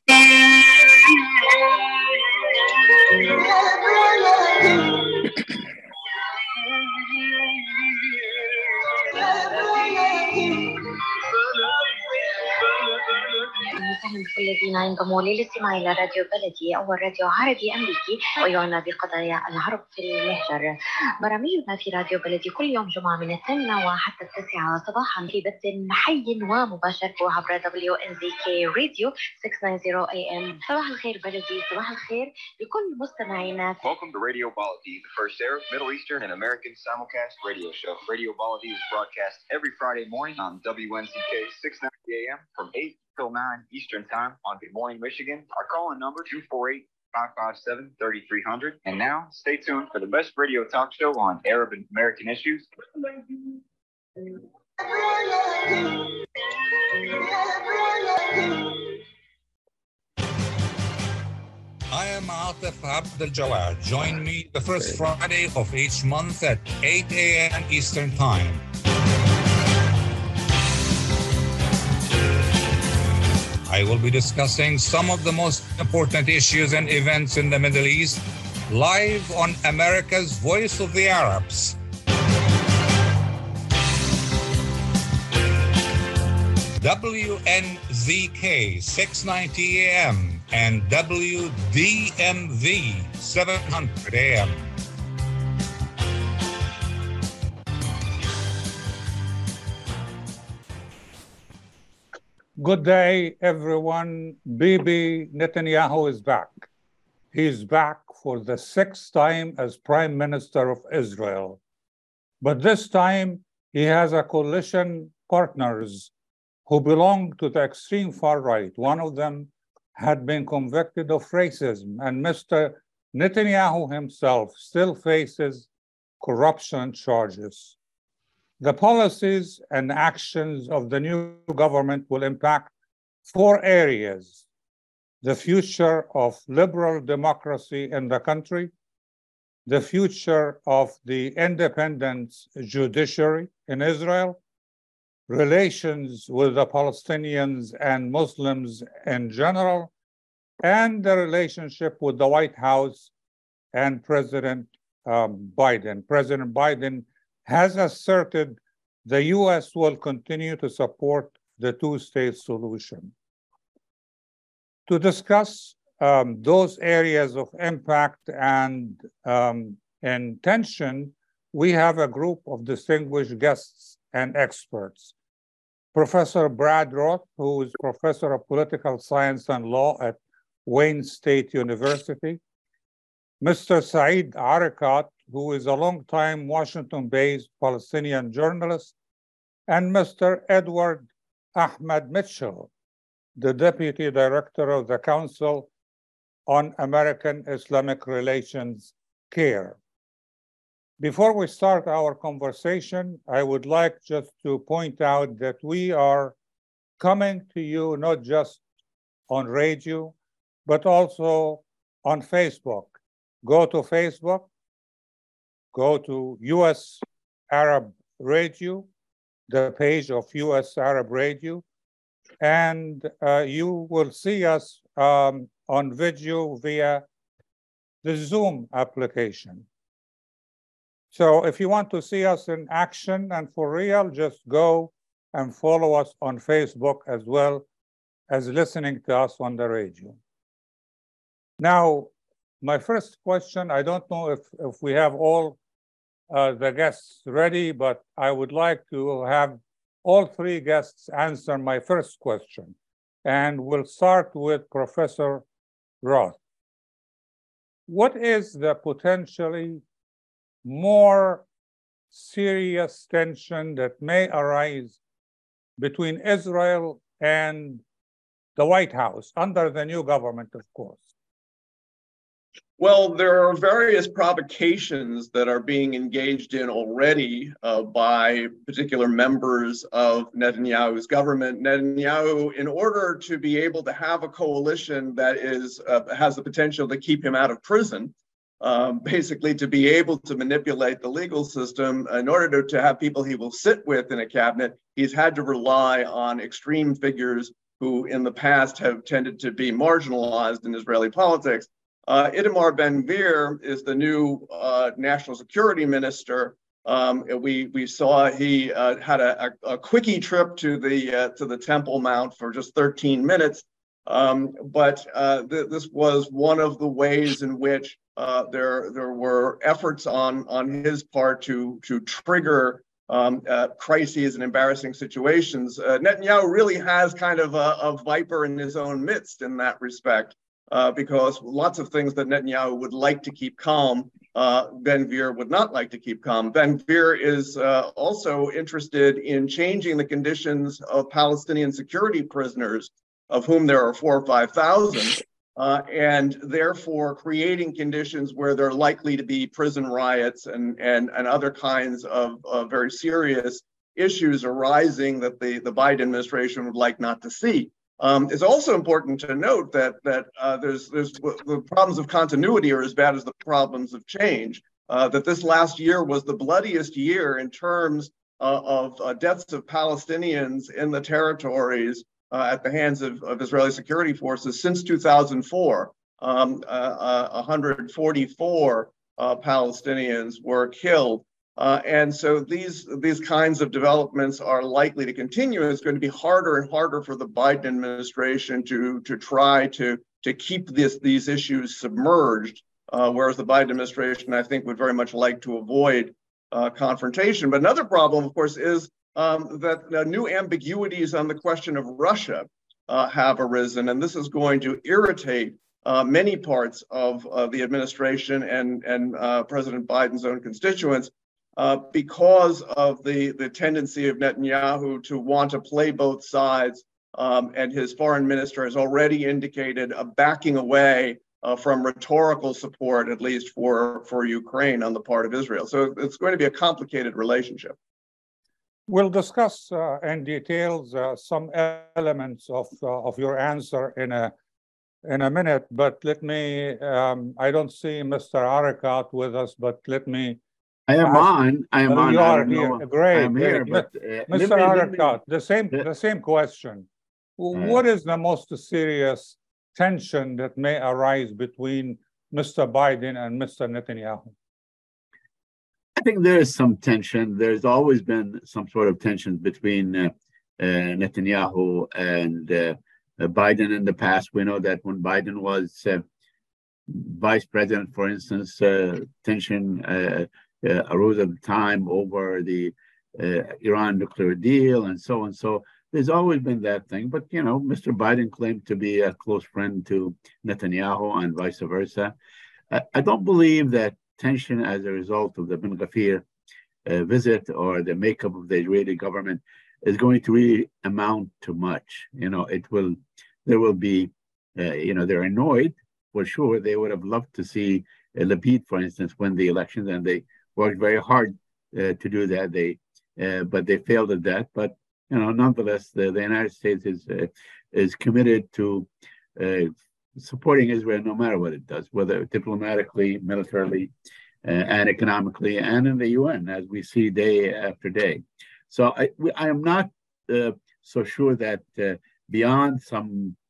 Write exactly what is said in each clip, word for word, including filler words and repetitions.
بكل الذين ينضموا للاستماع إلى راديو بلدي أول راديو عربي أمريكي ويعنى بقضايا العرب في المهجر. برامجنا في راديو بلدي كل يوم جمعة من الثامنة وحتى التاسعة صباحا في بث حي ومباشر عبر دبليو إن زي كي راديو ستمية وتسعين إيه إم. صباح الخير بلدي، صباح الخير لكل مستمعينا. Welcome to Radio Baladi, the first Arab, Middle Eastern, and American simulcast radio show. Radio Baladi is broadcast every Friday morning on W N Z K six ninety A M from eight till nine Eastern Time on Good Morning Michigan. Our call-in number two four eight, five five seven, three three zero zero. And now, stay tuned for the best radio talk show on Arab and American issues. I am Atif Abdel Jawad. Join me the first Friday of each month at eight A M Eastern Time. I will be discussing some of the most important issues and events in the Middle East live on America's Voice of the Arabs. W N Z K six ninety A M and W D M V seven hundred A M. Good day, everyone. Bibi Netanyahu is back. He's back for the sixth time as Prime Minister of Israel. But this time, he has a coalition partners who belong to the extreme far right. One of them had been convicted of racism, and Mister Netanyahu himself still faces corruption charges. The policies and actions of the new government will impact four areas: the future of liberal democracy in the country, the future of the independent judiciary in Israel, relations with the Palestinians and Muslims in general, and the relationship with the White House and President um, Biden. President Biden has asserted the U S will continue to support the two-state solution. To discuss um, those areas of impact and um, intention, we have a group of distinguished guests and experts. Professor Brad Roth, who is Professor of Political Science and Law at Wayne State University, Mister Saeed Arikat, who is a long-time Washington-based Palestinian journalist, and Mister Edward Ahmed Mitchell, the Deputy Director of the Council on American Islamic Relations, CAIR. Before we start our conversation, I would like just to point out that we are coming to you not just on radio, but also on Facebook. Go to Facebook, go to U S Arab Radio, the page of U S Arab Radio, and uh, you will see us um, on video via the Zoom application. So if you want to see us in action and for real, just go and follow us on Facebook as well as listening to us on the radio. Now, my first question, I don't know if, if we have all uh, the guests ready, but I would like to have all three guests answer my first question. And we'll start with Professor Roth. What is the potentially more serious tension that may arise between Israel and the White House under the new government, of course? Well, there are various provocations that are being engaged in already uh, by particular members of Netanyahu's government. Netanyahu, in order to be able to have a coalition that is uh, has the potential to keep him out of prison, um, basically to be able to manipulate the legal system, in order to, to have people he will sit with in a cabinet, he's had to rely on extreme figures who in the past have tended to be marginalized in Israeli politics. Uh, Itamar Ben-Gvir is the new uh, national security minister. Um, we we saw he uh, had a, a, a quickie trip to the uh, to the Temple Mount for just thirteen minutes, um, but uh, th this was one of the ways in which uh, there there were efforts on on his part to to trigger um, uh, crises and embarrassing situations. Uh, Netanyahu really has kind of a, a viper in his own midst in that respect, uh, because lots of things that Netanyahu would like to keep calm, Uh, Ben-Gvir would not like to keep calm. Ben-Gvir is uh, also interested in changing the conditions of Palestinian security prisoners, of whom there are four or five thousand, uh, and therefore creating conditions where there are likely to be prison riots and and and other kinds of uh, very serious issues arising that the the Biden administration would like not to see. Um, it's also important to note that that uh, there's there's the problems of continuity are as bad as the problems of change. Uh, that this last year was the bloodiest year in terms uh, of uh, deaths of Palestinians in the territories uh, at the hands of, of Israeli security forces since two thousand four. Um, uh, uh, one hundred forty-four uh, Palestinians were killed. Uh, and so these, these kinds of developments are likely to continue. It's going to be harder and harder for the Biden administration to, to try to, to keep this, these issues submerged, uh, whereas the Biden administration, I think, would very much like to avoid uh, confrontation. But another problem, of course, is um, that uh, new ambiguities on the question of Russia uh, have arisen, and this is going to irritate uh, many parts of uh, the administration and, and uh, President Biden's own constituents. Uh, because of the, the tendency of Netanyahu to want to play both sides, um, and his foreign minister has already indicated a backing away uh, from rhetorical support, at least for, for Ukraine on the part of Israel. So it's going to be a complicated relationship. We'll discuss uh, in details uh, some elements of, uh, of your answer in a, in a minute, but let me, um, I don't see Mister Arakat with us, but let me I am on. I am oh, on. You I are here. know. Great. I'm great. here, but uh, Mister Arakat, the same, Yeah. the same question. Yeah. What is the most serious tension that may arise between Mister Biden and Mister Netanyahu? I think there is some tension. There's always been some sort of tension between uh, uh, Netanyahu and uh, Biden in the past. We know that when Biden was uh, vice president, for instance, uh, tension uh, uh, arose at the time over the uh, Iran nuclear deal and so on. So there's always been that thing. But, you know, Mister Biden claimed to be a close friend to Netanyahu and vice versa. I, I don't believe that tension as a result of the Ben-Gvir uh, visit or the makeup of the Israeli government is going to really amount to much. You know, it will, there will be, uh, you know, they're annoyed. For sure, they would have loved to see uh, Lapid, for instance, win the elections, and they worked very hard uh, to do that. They, uh, but they failed at that. But you know, nonetheless, the, the United States is uh, is committed to uh, supporting Israel no matter what it does, whether diplomatically, militarily, uh, and economically, and in the U N, as we see day after day. So I, we, I am not uh, so sure that uh, beyond some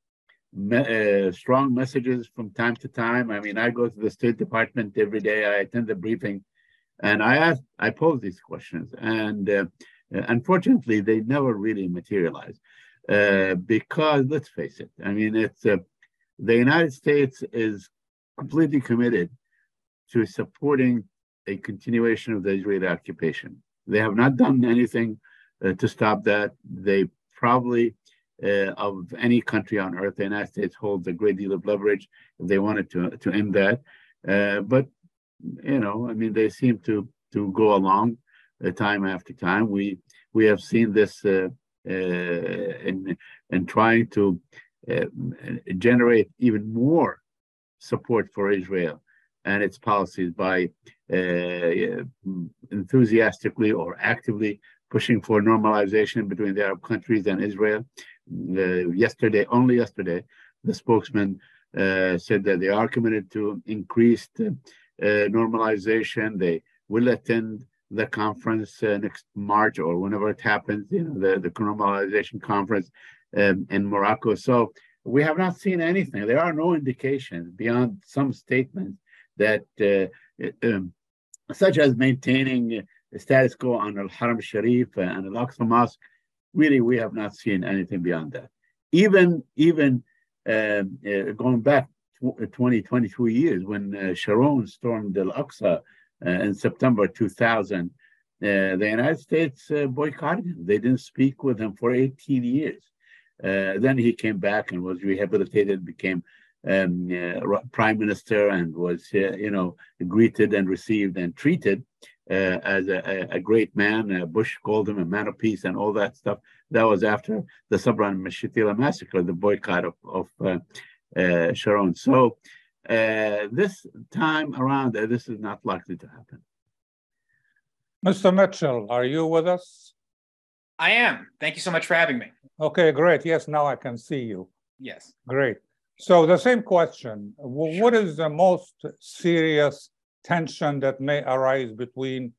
Me, uh, strong messages from time to time. I mean, I go to the State Department every day. I attend the briefing, and I ask, I pose these questions, and uh, unfortunately, they never really materialize. Uh, because let's face it, I mean, it's uh, the United States is completely committed to supporting a continuation of the Israeli occupation. They have not done anything uh, to stop that. They probably Uh, of any country on earth, the United States holds a great deal of leverage if they wanted to to end that. Uh, but you know, I mean, they seem to to go along uh, time after time. We we have seen this uh, uh, in in trying to uh, generate even more support for Israel and its policies by uh, enthusiastically or actively pushing for normalization between the Arab countries and Israel. Uh, yesterday, only yesterday, the spokesman uh, said that they are committed to increased uh, uh, normalization. They will attend the conference uh, next March or whenever it happens, you know, the, the normalization conference um, in Morocco. So we have not seen anything. There are no indications beyond some statements that, uh, um, such as maintaining the status quo on Al-Haram Sharif and Al-Aqsa Mosque. Really, we have not seen anything beyond that. Even, even um, uh, going back twenty, twenty-two years, when uh, Sharon stormed Al-Aqsa uh, in September two thousand, uh, the United States uh, boycotted him. They didn't speak with him for eighteen years. Uh, then he came back and was rehabilitated, became um, uh, prime minister, and was, uh, you know, greeted and received and treated uh, as a, a great man. Uh, Bush called him a man of peace and all that stuff. That was after the Sabra and Shatila massacre, the boycott of, of uh, uh, Sharon. So uh, this time around, uh, this is not likely to happen. Mister Mitchell, are you with us? I am. Thank you so much for having me. Okay, great. Yes, now I can see you. Yes. Great. So the same question. Sure. What is the most serious tension that may arise between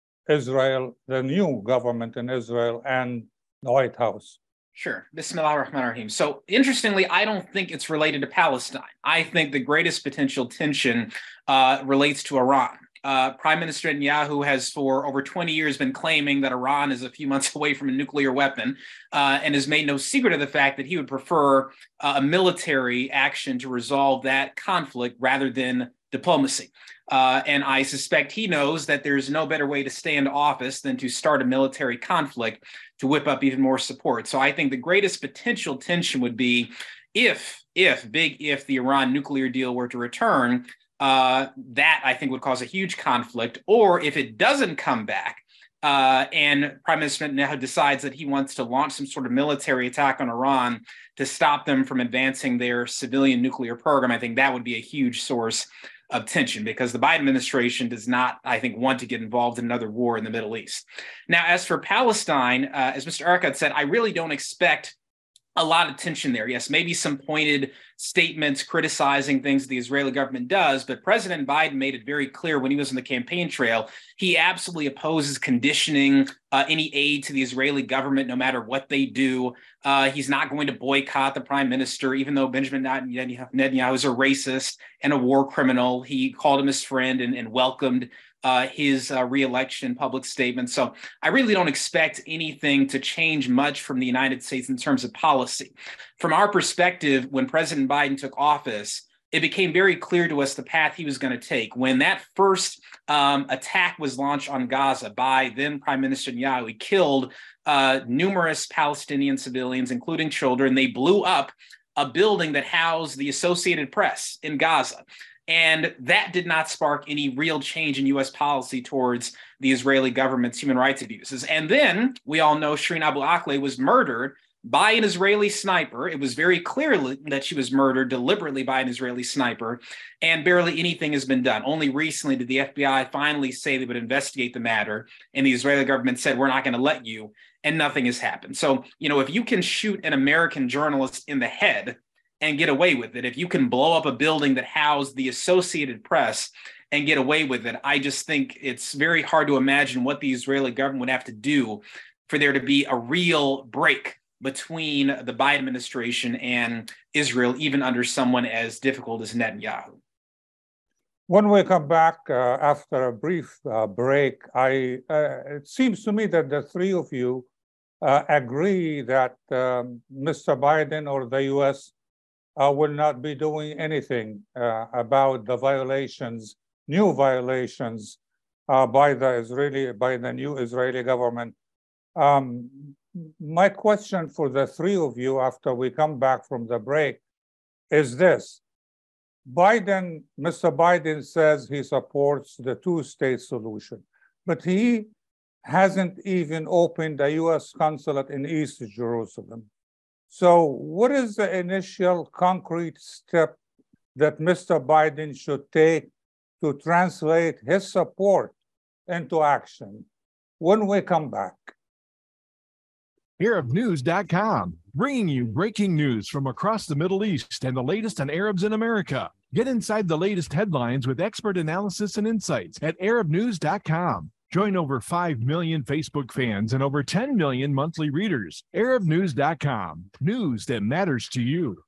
Israel, the new government in Israel, and the White House? Sure. Bismillah ar-Rahman ar-Rahim. So interestingly, I don't think it's related to Palestine. I think the greatest potential tension uh, relates to Iran. Uh, Prime Minister Netanyahu has for over twenty years been claiming that Iran is a few months away from a nuclear weapon uh, and has made no secret of the fact that he would prefer uh, a military action to resolve that conflict rather than diplomacy. Uh, and I suspect he knows that there's no better way to stay in office than to start a military conflict to whip up even more support. So I think the greatest potential tension would be if, if, big if the Iran nuclear deal were to return, Uh, that I think would cause a huge conflict. Or if it doesn't come back uh, and Prime Minister Netanyahu decides that he wants to launch some sort of military attack on Iran to stop them from advancing their civilian nuclear program, I think that would be a huge source of tension, because the Biden administration does not, I think, want to get involved in another war in the Middle East. Now, as for Palestine, uh, as Mister Erekat said, I really don't expect a lot of tension there. Yes, maybe some pointed statements criticizing things the Israeli government does, but President Biden made it very clear when he was on the campaign trail, he absolutely opposes conditioning uh, any aid to the Israeli government, no matter what they do. Uh, he's not going to boycott the prime minister, even though Benjamin Netanyahu is a racist and a war criminal. He called him his friend and, and welcomed Uh, his uh, re-election public statement. So I really don't expect anything to change much from the United States in terms of policy. From our perspective, when President Biden took office, it became very clear to us the path he was going to take. When that first um, attack was launched on Gaza by then Prime Minister Netanyahu, he killed uh, numerous Palestinian civilians, including children. They blew up a building that housed the Associated Press in Gaza. And that did not spark any real change in U S policy towards the Israeli government's human rights abuses. And then we all know Shireen Abu Akleh was murdered by an Israeli sniper. It was very clear that she was murdered deliberately by an Israeli sniper, and barely anything has been done. Only recently did the F B I finally say they would investigate the matter, and the Israeli government said, we're not going to let you, and nothing has happened. So, you know, if you can shoot an American journalist in the head and get away with it, if you can blow up a building that housed the Associated Press and get away with it, I just think it's very hard to imagine what the Israeli government would have to do for there to be a real break between the Biden administration and Israel, even under someone as difficult as Netanyahu. When we come back uh, after a brief uh, break, I uh, it seems to me that the three of you uh, agree that um, Mister Biden or the U S Uh, will not be doing anything uh, about the violations, new violations uh, by the Israeli, by the new Israeli government. Um, my question for the three of you after we come back from the break is this. Biden, Mister Biden says he supports the two-state solution, but he hasn't even opened a U S consulate in East Jerusalem. So what is the initial concrete step that Mister Biden should take to translate his support into action when we come back? Arab News dot com, bringing you breaking news from across the Middle East and the latest on Arabs in America. Get inside the latest headlines with expert analysis and insights at Arab News dot com. Join over five million Facebook fans and over ten million monthly readers. Arab News dot com. News that matters to you.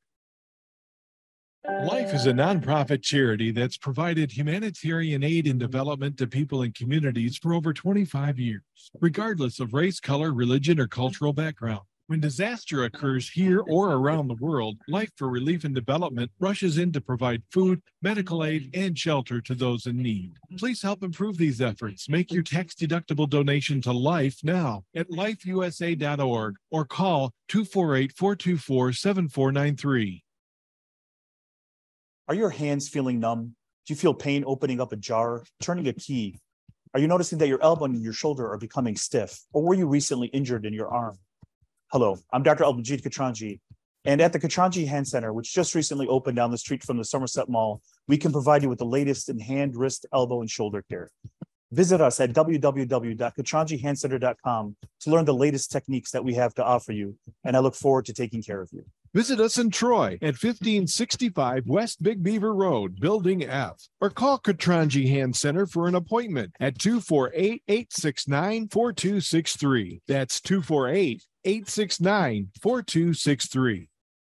Life is a nonprofit charity that's provided humanitarian aid and development to people and communities for over twenty-five years, regardless of race, color, religion, or cultural background. When disaster occurs here or around the world, Life for Relief and Development rushes in to provide food, medical aid, and shelter to those in need. Please help improve these efforts. Make your tax-deductible donation to Life now at life U S A dot org or call two four eight, four two four, seven four nine three. Are your hands feeling numb? Do you feel pain opening up a jar, turning a key? Are you noticing that your elbow and your shoulder are becoming stiff? Or were you recently injured in your arm? Hello, I'm Doctor Al-Majid Katranji, and at the Katranji Hand Center, which just recently opened down the street from the Somerset Mall, we can provide you with the latest in hand, wrist, elbow, and shoulder care. Visit us at w w w dot katranji hand center dot com to learn the latest techniques that we have to offer you, and I look forward to taking care of you. Visit us in Troy at fifteen sixty-five West Big Beaver Road, Building F, or call Katranji Hand Center for an appointment at two four eight, eight six nine, four two six three. That's two four eight, eight six nine, four two six three.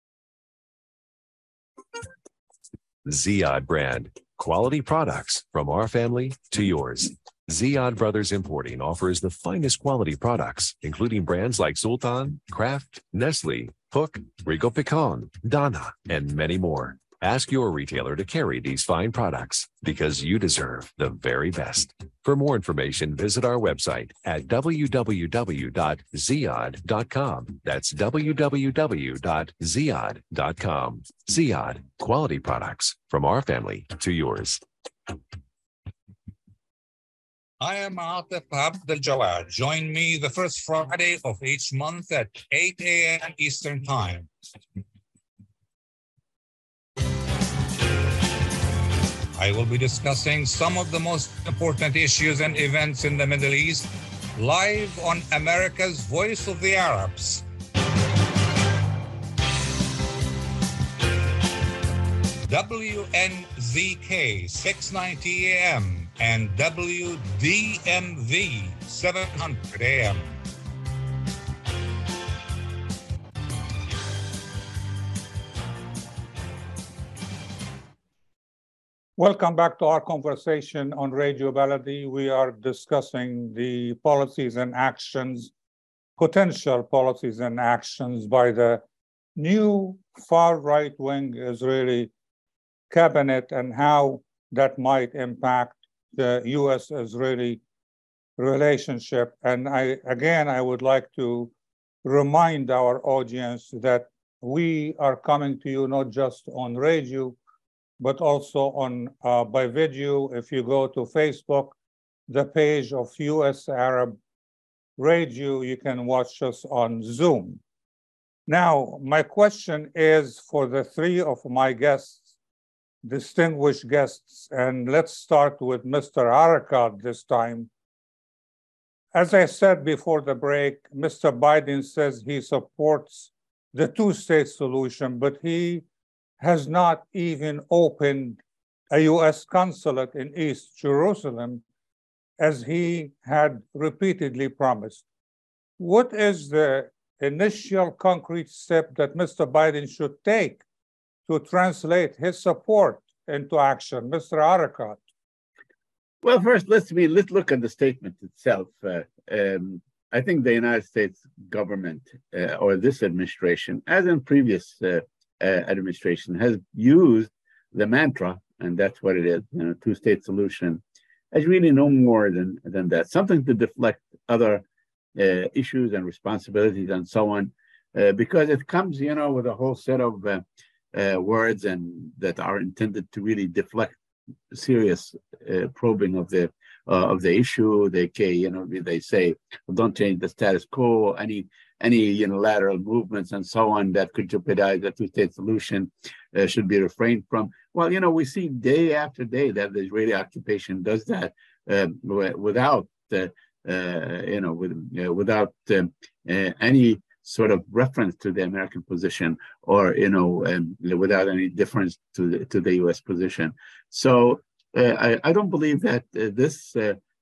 Ziyad brand. Quality products from our family to yours. Ziyad Brothers Importing offers the finest quality products, including brands like Sultan, Kraft, Nestle, Hook, Rico Picon, Donna, and many more. Ask your retailer to carry these fine products because you deserve the very best. For more information, visit our website at w w w dot ziyad dot com. That's w w w dot ziyad dot com. Ziyad, quality products from our family to yours. I am Atif Abdel Jawad. Join me the first Friday of each month at eight a m Eastern Time. I will be discussing some of the most important issues and events in the Middle East live on America's Voice of the Arabs. W N Z K six ninety A M and W D M V seven hundred A M. Welcome back to our conversation on Radio Baladi. We are discussing the policies and actions, potential policies and actions by the new far right-wing Israeli cabinet and how that might impact the U S-Israeli relationship. And I, again, I would like to remind our audience that we are coming to you not just on radio, but also on uh, by video. If you go to Facebook, the page of U S Arab Radio, you can watch us on Zoom. Now, my question is for the three of my guests, distinguished guests, and let's start with Mister Arakat this time. As I said before the break, Mister Biden says he supports the two-state solution, but he has not even opened a U S consulate in East Jerusalem, as he had repeatedly promised. What is the initial concrete step that Mister Biden should take to translate his support into action? Mister Arakat. Well, first, let's be, let's look at the statement itself. Uh, um, I think the United States government uh, or this administration, as in previous uh, uh, administration, has used the mantra, and that's what it is, you know, two-state solution, as really no more than, than that, something to deflect other uh, issues and responsibilities and so on, uh, because it comes, you know, with a whole set of uh, uh, words and that are intended to really deflect serious uh, probing of the uh, of the issue. They, you know, they say, don't change the status quo. Any any unilateral movements and so on that could jeopardize the two-state solution uh, should be refrained from. Well, you know, we see day after day that the Israeli occupation does that uh, without, uh, uh, you know, with, uh, without um, uh, any sort of reference to the American position, or, you know, um, without any difference to the, to the U S position. So uh, I, I don't believe that uh, this uh,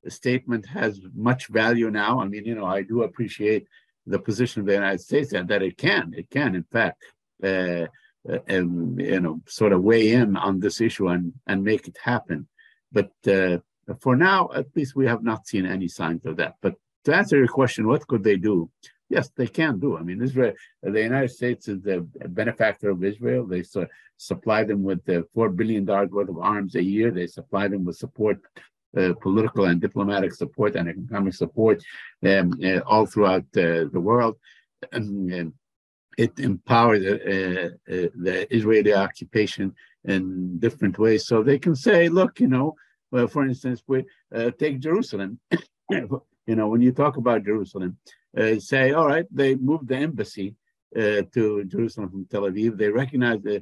statement has much value now. I mean, you know, I do appreciate the position of the United States and that it can, it can, in fact, uh, and, you know, sort of weigh in on this issue and, and make it happen. But uh, for now, at least we have not seen any signs of that. But to answer your question, what could they do? Yes, they can do. I mean, Israel, the United States is the benefactor of Israel. They su- supply them with the four billion dollars worth of arms a year. They supply them with support, uh, political and diplomatic support and economic support um, uh, all throughout uh, the world. And, and it empowers uh, uh, the Israeli occupation in different ways. So they can say, look, you know, well, for instance, we uh, take Jerusalem. You know, when you talk about Jerusalem, uh, say, all right, they moved the embassy uh, to Jerusalem from Tel Aviv. They recognize the,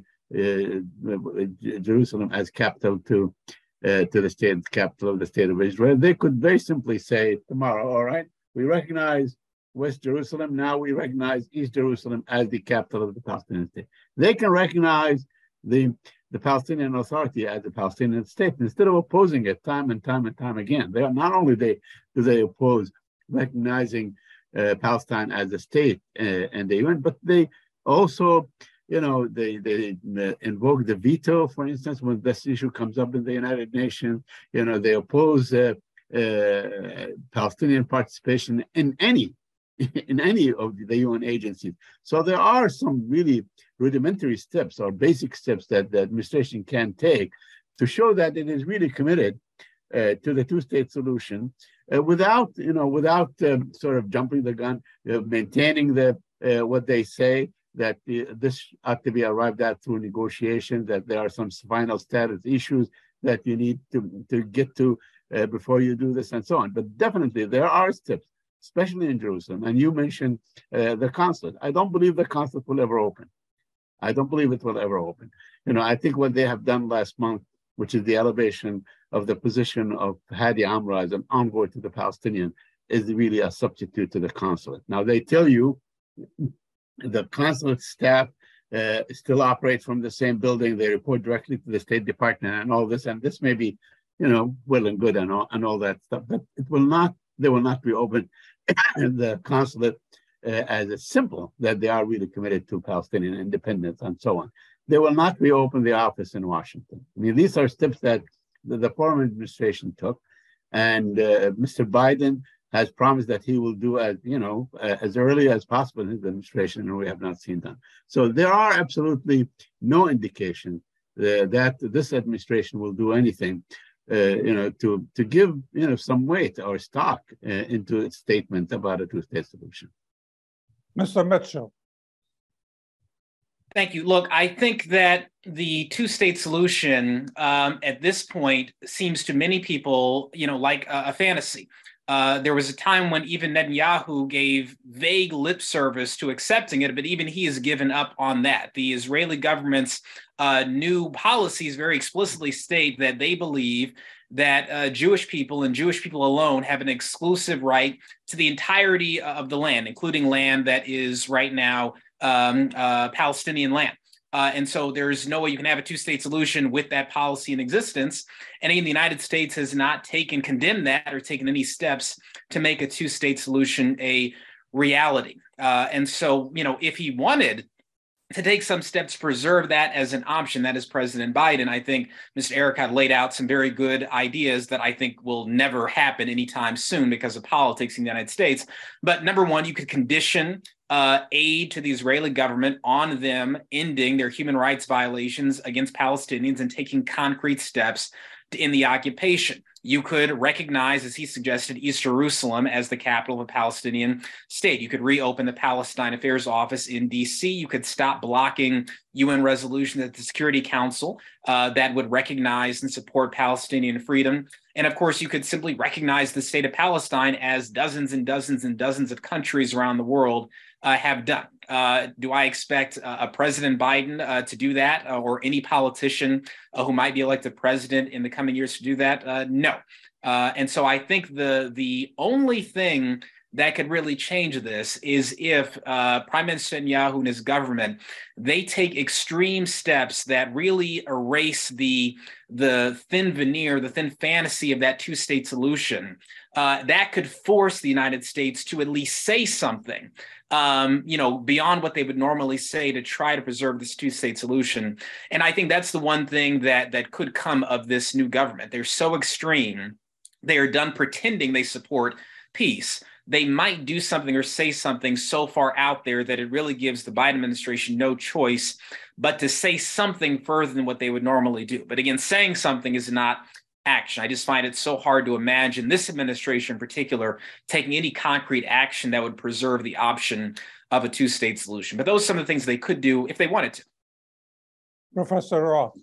uh, Jerusalem as capital to uh, to the state, capital of the state of Israel. They could very simply say tomorrow, all right, we recognize West Jerusalem. Now we recognize East Jerusalem as the capital of the Palestinian state. They can recognize the the Palestinian Authority as a Palestinian state instead of opposing it time and time and time again. They are not only they do they oppose recognizing uh, Palestine as a state uh, and the U N, but they also, you know, they they uh, invoke the veto, for instance, when this issue comes up in the United Nations. You know, they oppose uh, uh, Palestinian participation in any in any of the U N agencies. So there are some really rudimentary steps or basic steps that the administration can take to show that it is really committed uh, to the two-state solution uh, without, you know, without um, sort of jumping the gun, uh, maintaining the uh, what they say, that uh, this ought to be arrived at through negotiation, that there are some final status issues that you need to, to get to uh, before you do this and so on. But definitely there are steps, especially in Jerusalem. And you mentioned uh, the consulate. I don't believe the consulate will ever open. I don't believe it will ever open. You know, I think what they have done last month, which is the elevation of the position of Hadi Amra as an envoy to the Palestinian, is really a substitute to the consulate. Now, they tell you the consulate staff uh, still operate from the same building. They report directly to the State Department and all this. And this may be, you know, well and good and all, and all that stuff, but it will not, they will not be open. The consulate uh, as a symbol that they are really committed to Palestinian independence and so on. They will not reopen the office in Washington. I mean, these are steps that the, the former administration took, and uh, Mister Biden has promised that he will do as, you know, uh, as early as possible in his administration, and we have not seen that. So there are absolutely no indication uh, that this administration will do anything Uh, you know, to to give, you know, some weight or stock uh, into its statement about a two-state solution. Mister Mitchell. Thank you. Look, I think that the two-state solution um, at this point seems to many people, you know, like a, a fantasy. Uh, there was a time when even Netanyahu gave vague lip service to accepting it, but even he has given up on that. The Israeli government's uh, new policies very explicitly state that they believe that uh, Jewish people and Jewish people alone have an exclusive right to the entirety of the land, including land that is right now um, uh, Palestinian land. Uh, and so there's no way you can have a two-state solution with that policy in existence. And again, the United States has not taken, condemned that or taken any steps to make a two-state solution a reality. Uh, and so, you know, if he wanted to take some steps to preserve that as an option, that is President Biden, I think Mister Erekat laid out some very good ideas that I think will never happen anytime soon because of politics in the United States. But number one, you could condition uh, aid to the Israeli government on them ending their human rights violations against Palestinians and taking concrete steps to end the occupation. You could recognize, as he suggested, East Jerusalem as the capital of a Palestinian state. You could reopen the Palestine Affairs Office in D C. You could stop blocking U N resolutions at the Security Council uh, that would recognize and support Palestinian freedom. And of course, you could simply recognize the state of Palestine as dozens and dozens and dozens of countries around the world uh, have done. Uh, do I expect uh, a President Biden uh, to do that, uh, or any politician uh, who might be elected president in the coming years to do that? Uh, no. Uh, and so I think the the only thing that could really change this is if uh, Prime Minister Netanyahu and his government, they take extreme steps that really erase the, the thin veneer, the thin fantasy of that two-state solution. Uh, that could force the United States to at least say something, um, you know, beyond what they would normally say to try to preserve this two-state solution. And I think that's the one thing that, that could come of this new government. They're so extreme. They are done pretending they support peace. They might do something or say something so far out there that it really gives the Biden administration no choice but to say something further than what they would normally do. But again, saying something is not action. I just find it so hard to imagine this administration in particular taking any concrete action that would preserve the option of a two-state solution. But those are some of the things they could do if they wanted to. Professor Roth.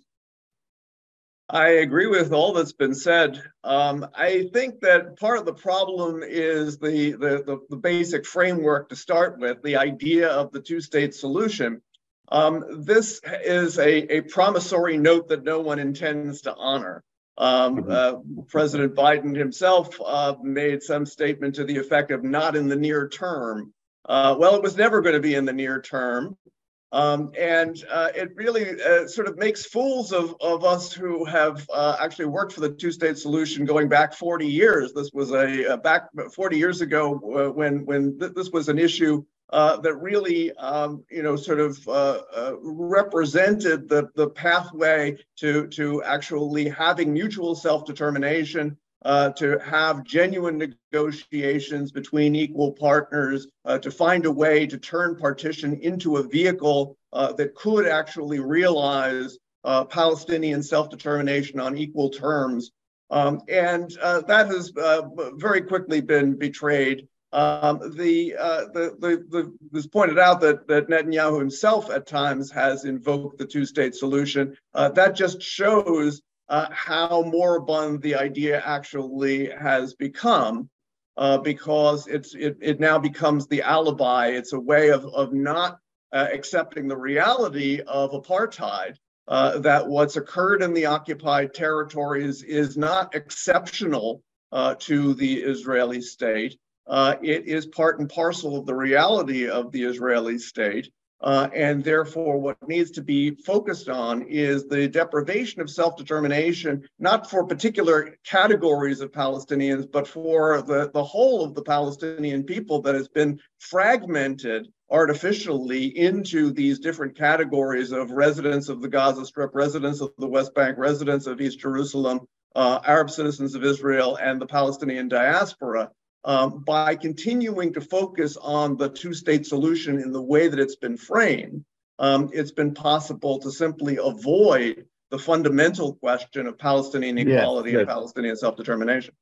I agree with all that's been said. Um, I think that part of the problem is the, the, the, the basic framework to start with, the idea of the two-state solution. Um, this is a, a promissory note that no one intends to honor. Um, uh, President Biden himself uh, made some statement to the effect of not in the near term. Uh, well, it was never going to be in the near term. Um, and uh, it really uh, sort of makes fools of, of us who have uh, actually worked for the two-state solution going back forty years. This was a, a back forty years ago uh, when, when th this was an issue uh, that really, um, you know, sort of uh, uh, represented the, the pathway to, to actually having mutual self-determination, Uh, to have genuine negotiations between equal partners, uh, to find a way to turn partition into a vehicle uh, that could actually realize uh, Palestinian self-determination on equal terms. Um, and uh, that has uh, very quickly been betrayed. Um, the, uh, the, the, the, it was pointed out that, that Netanyahu himself at times has invoked the two-state solution. Uh, that just shows Uh, how moribund the idea actually has become, uh, because it's it, it now becomes the alibi. It's a way of, of not uh, accepting the reality of apartheid, uh, that what's occurred in the occupied territories is not exceptional uh, to the Israeli state. Uh, it is part and parcel of the reality of the Israeli state. Uh, and therefore, what needs to be focused on is the deprivation of self-determination, not for particular categories of Palestinians, but for the, the whole of the Palestinian people that has been fragmented artificially into these different categories of residents of the Gaza Strip, residents of the West Bank, residents of East Jerusalem, uh, Arab citizens of Israel, and the Palestinian diaspora. Um, by continuing to focus on the two-state solution in the way that it's been framed, um, it's been possible to simply avoid the fundamental question of Palestinian equality yes, yes. and Palestinian self-determination.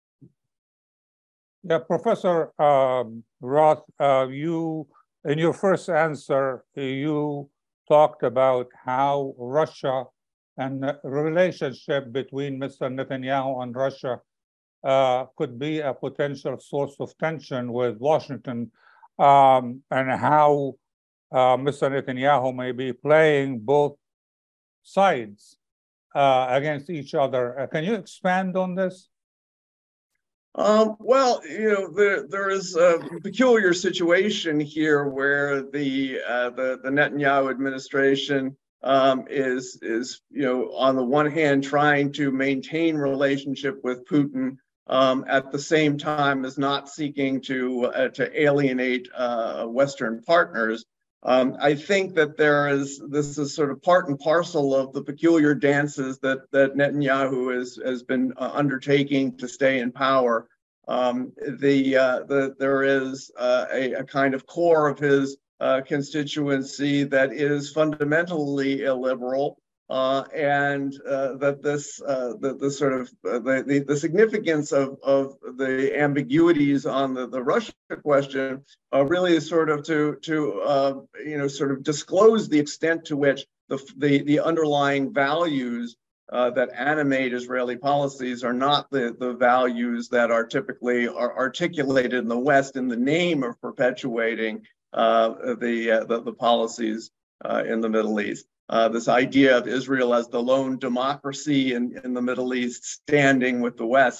Yeah, Professor um, Roth, uh, you, in your first answer, you talked about how Russia and the relationship between Mister Netanyahu and Russia Uh, could be a potential source of tension with Washington, um, and how uh, Mister Netanyahu may be playing both sides uh, against each other. Uh, can you expand on this? Um, well, you know, there, there is a peculiar situation here where the, uh, the, the Netanyahu administration um, is, is, you know, on the one hand, trying to maintain relationship with Putin, Um, at the same time as not seeking to uh, to alienate uh, Western partners. Um, I think that there is this is sort of part and parcel of the peculiar dances that that Netanyahu has has been uh, undertaking to stay in power. Um, the uh, the there is uh, a, a kind of core of his uh, constituency that is fundamentally illiberal. Uh, and uh, that this, uh, the, the sort of uh, the, the the significance of of the ambiguities on the the Russia question uh, really is sort of to to uh, you know sort of disclose the extent to which the the, the underlying values uh, that animate Israeli policies are not the the values that are typically are articulated in the West in the name of perpetuating uh, the, uh, the the policies uh, in the Middle East. Uh, this idea of Israel as the lone democracy in, in the Middle East standing with the West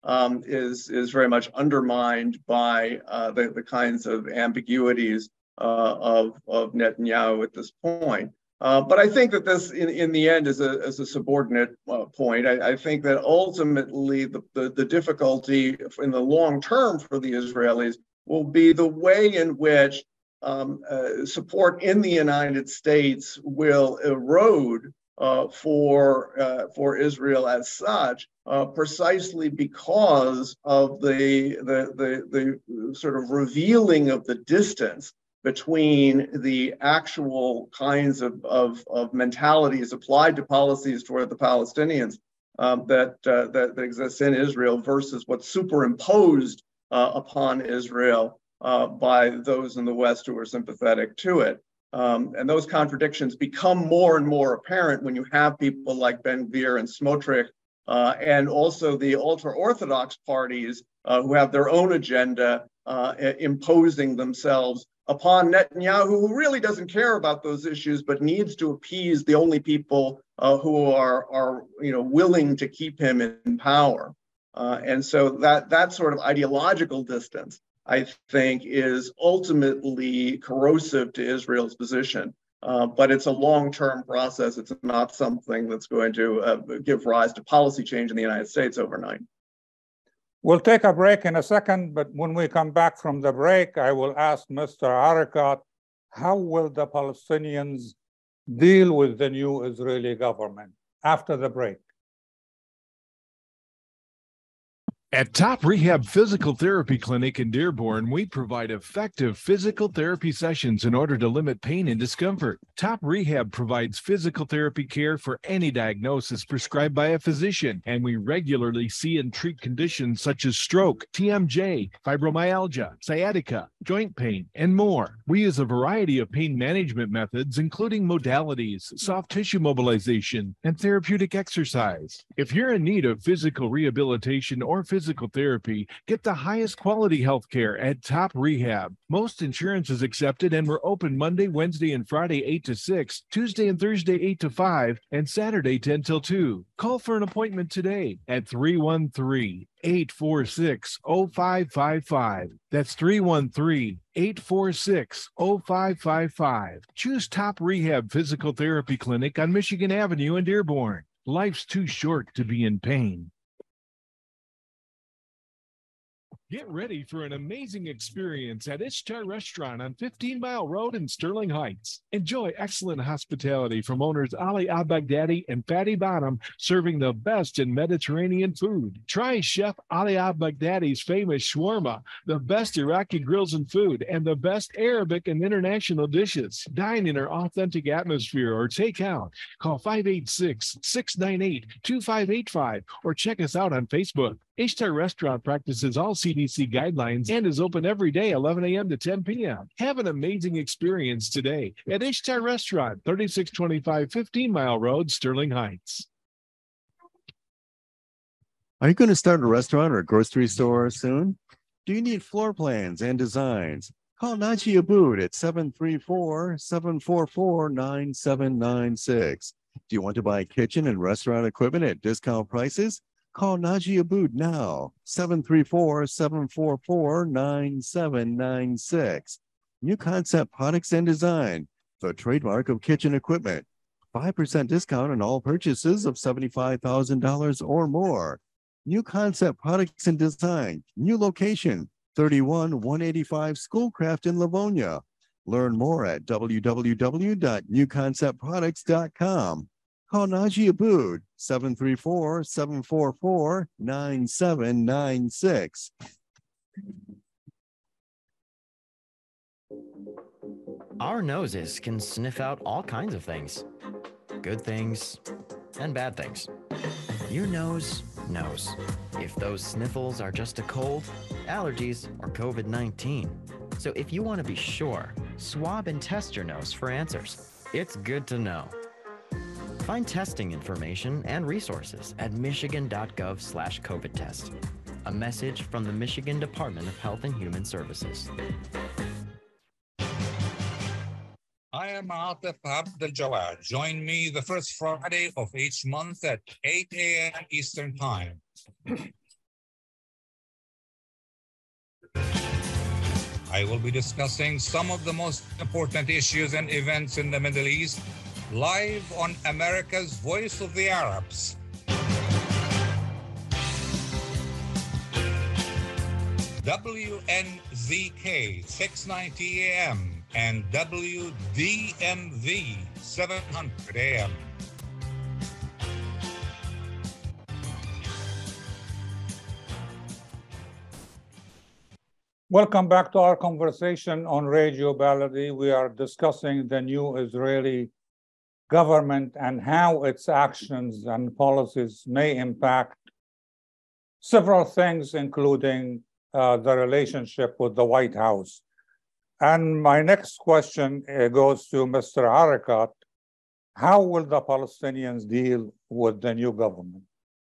um, is, is very much undermined by uh, the, the kinds of ambiguities uh, of, of Netanyahu at this point. Uh, but I think that this, in, in the end, is a, is a subordinate uh, point. I, I think that ultimately the, the, the difficulty in the long term for the Israelis will be the way in which um, uh, support in the United States will erode uh, for, uh, for Israel as such, uh, precisely because of the, the, the, the sort of revealing of the distance between the actual kinds of, of, of mentalities applied to policies toward the Palestinians um, that, uh, that, that exists in Israel versus what's superimposed uh, upon Israel uh, by those in the West who are sympathetic to it. Um, and those contradictions become more and more apparent when you have people like Ben-Gvir and Smotrich, uh, and also the ultra-Orthodox parties uh, who have their own agenda uh, imposing themselves upon Netanyahu, who really doesn't care about those issues, but needs to appease the only people uh, who are, are you know, willing to keep him in power. Uh, and so that, that sort of ideological distance, I think, is ultimately corrosive to Israel's position. Uh, but it's a long-term process. It's not something that's going to uh, give rise to policy change in the United States overnight. We'll take a break in a second, but when we come back from the break, I will ask Mister Arikat, how will the Palestinians deal with the new Israeli government after the break? At Top Rehab Physical Therapy Clinic in Dearborn, we provide effective physical therapy sessions in order to limit pain and discomfort. Top Rehab provides physical therapy care for any diagnosis prescribed by a physician, and we regularly see and treat conditions such as stroke, T M J, fibromyalgia, sciatica, joint pain, and more. We use a variety of pain management methods, including modalities, soft tissue mobilization, and therapeutic exercise. If you're in need of physical rehabilitation or physical Physical therapy, get the highest quality health care at Top Rehab. Most insurance is accepted, and we're open Monday, Wednesday, and Friday eight to six, Tuesday and Thursday eight to five, and Saturday ten till two. Call for an appointment today at three one three, eight four six, zero five five five. That's three one three, eight four six, zero five five five. Choose Top Rehab Physical Therapy Clinic on Michigan Avenue in Dearborn. Life's too short to be in pain. Get ready for an amazing experience at Ishtar Restaurant on fifteen mile Road in Sterling Heights. Enjoy excellent hospitality from owners Ali Al-Baghdadi and Fatty Bottom, serving the best in Mediterranean food. Try Chef Ali Al-Baghdadi's famous shawarma, the best Iraqi grills and food, and the best Arabic and international dishes. Dine in our authentic atmosphere or take out. Call five eight six, six nine eight, two five eight five or check us out on Facebook. Ishtar Restaurant practices all C D C guidelines and is open every day, eleven a m to ten p m Have an amazing experience today at Ishtar Restaurant, thirty-six twenty-five fifteen mile Road, Sterling Heights. Are you going to start a restaurant or a grocery store soon? Do you need floor plans and designs? Call Naji Abood at seven three four, seven four four, nine seven nine six. Do you want to buy kitchen and restaurant equipment at discount prices? Call Naji Abood now, seven three four, seven four four, nine seven nine six. New Concept Products and Design, the trademark of kitchen equipment. five percent discount on all purchases of seventy-five thousand dollars or more. New Concept Products and Design, new location, thirty-one one eighty-five Schoolcraft in Livonia. Learn more at w w w dot new concept products dot com. Call Naji Abood, seven three four, seven four four, nine seven nine six. Our noses can sniff out all kinds of things. Good things and bad things. Your nose knows if those sniffles are just a cold, allergies, or COVID nineteen. So if you want to be sure, swab and test your nose for answers. It's good to know. Find testing information and resources at michigan dot gov slash COVID test. A message from the Michigan Department of Health and Human Services. I am Atif Abdel Jawad. Join me the first Friday of each month at eight a m Eastern Time. I will be discussing some of the most important issues and events in the Middle East live on America's Voice of the Arabs. W N Z K six ninety A M and W D M V seven hundred A M. Welcome back to our conversation on Radio Baladi. We are discussing the new Israeli government and how its actions and policies may impact several things, including uh, the relationship with the White House. And my next question uh, goes to Mister Harakat. How will the Palestinians deal with the new government?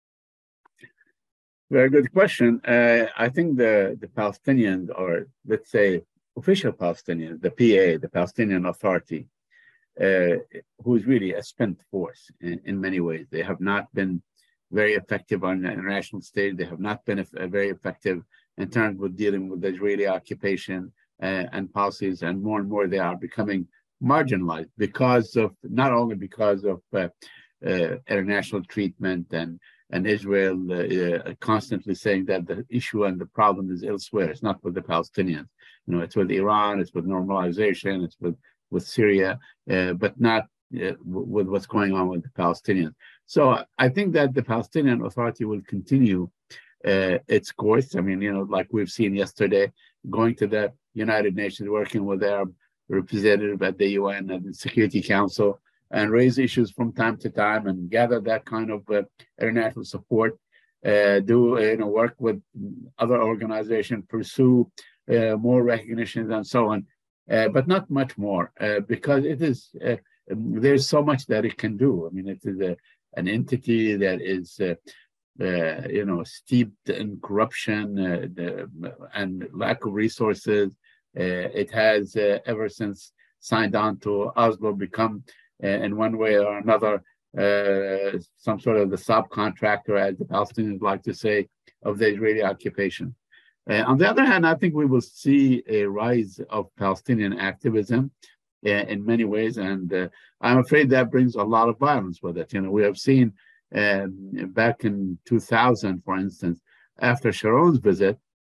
Very good question. Uh, I think the, the Palestinians, or let's say official Palestinians, the P A, the Palestinian Authority, uh, who is really a spent force in, in many ways. They have not been very effective on the international stage. They have not been uh, very effective in terms of dealing with the Israeli occupation uh, and policies, and more and more they are becoming marginalized because of, not only because of uh, uh, international treatment and And Israel uh, uh, constantly saying that the issue and the problem is elsewhere. It's not with the Palestinians. You know, it's with Iran, it's with normalization, it's with, with Syria, uh, but not uh, with what's going on with the Palestinians. So I think that the Palestinian Authority will continue uh, its course. I mean, you know, like we've seen yesterday, going to the United Nations, working with their representative at the U N and the Security Council, and raise issues from time to time and gather that kind of uh, international support, uh, do, uh, you know, work with other organizations, pursue uh, more recognitions and so on, uh, but not much more uh, because it is, uh, there's so much that it can do. I mean, it is a, an entity that is, uh, uh, you know, steeped in corruption uh, the, and lack of resources. Uh, it has, uh, ever since signed on to Oslo, become Uh, in one way or another, uh, some sort of the subcontractor, as the Palestinians like to say, of the Israeli occupation. Uh, on the other hand, I think we will see a rise of Palestinian activism uh, in many ways, and uh, I'm afraid that brings a lot of violence with it. You know, we have seen um, back in two thousand, for instance, after Sharon's visit,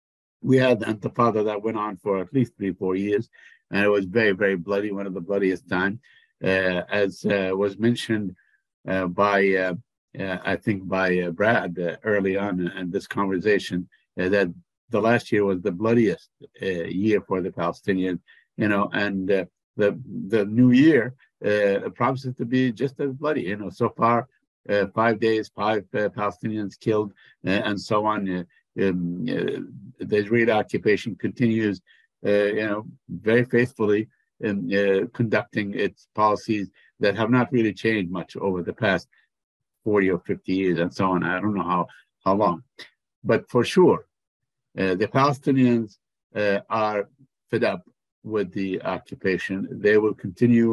we had the Intifada that went on for at least three, four years, and it was very, very bloody, one of the bloodiest times. Uh, as uh, was mentioned uh, by, uh, uh, I think, by uh, Brad uh, early on in this conversation, uh, that the last year was the bloodiest uh, year for the Palestinians, you know, and uh, the the new year uh, promises to be just as bloody. You know, so far, uh, five days, five uh, Palestinians killed, uh, and so on. Uh, um, uh, the Israeli occupation continues, uh, you know, very faithfully in uh, conducting its policies that have not really changed much over the past forty or fifty years and so on. I don't know how, how long. But for sure, uh, the Palestinians uh, are fed up with the occupation. They will continue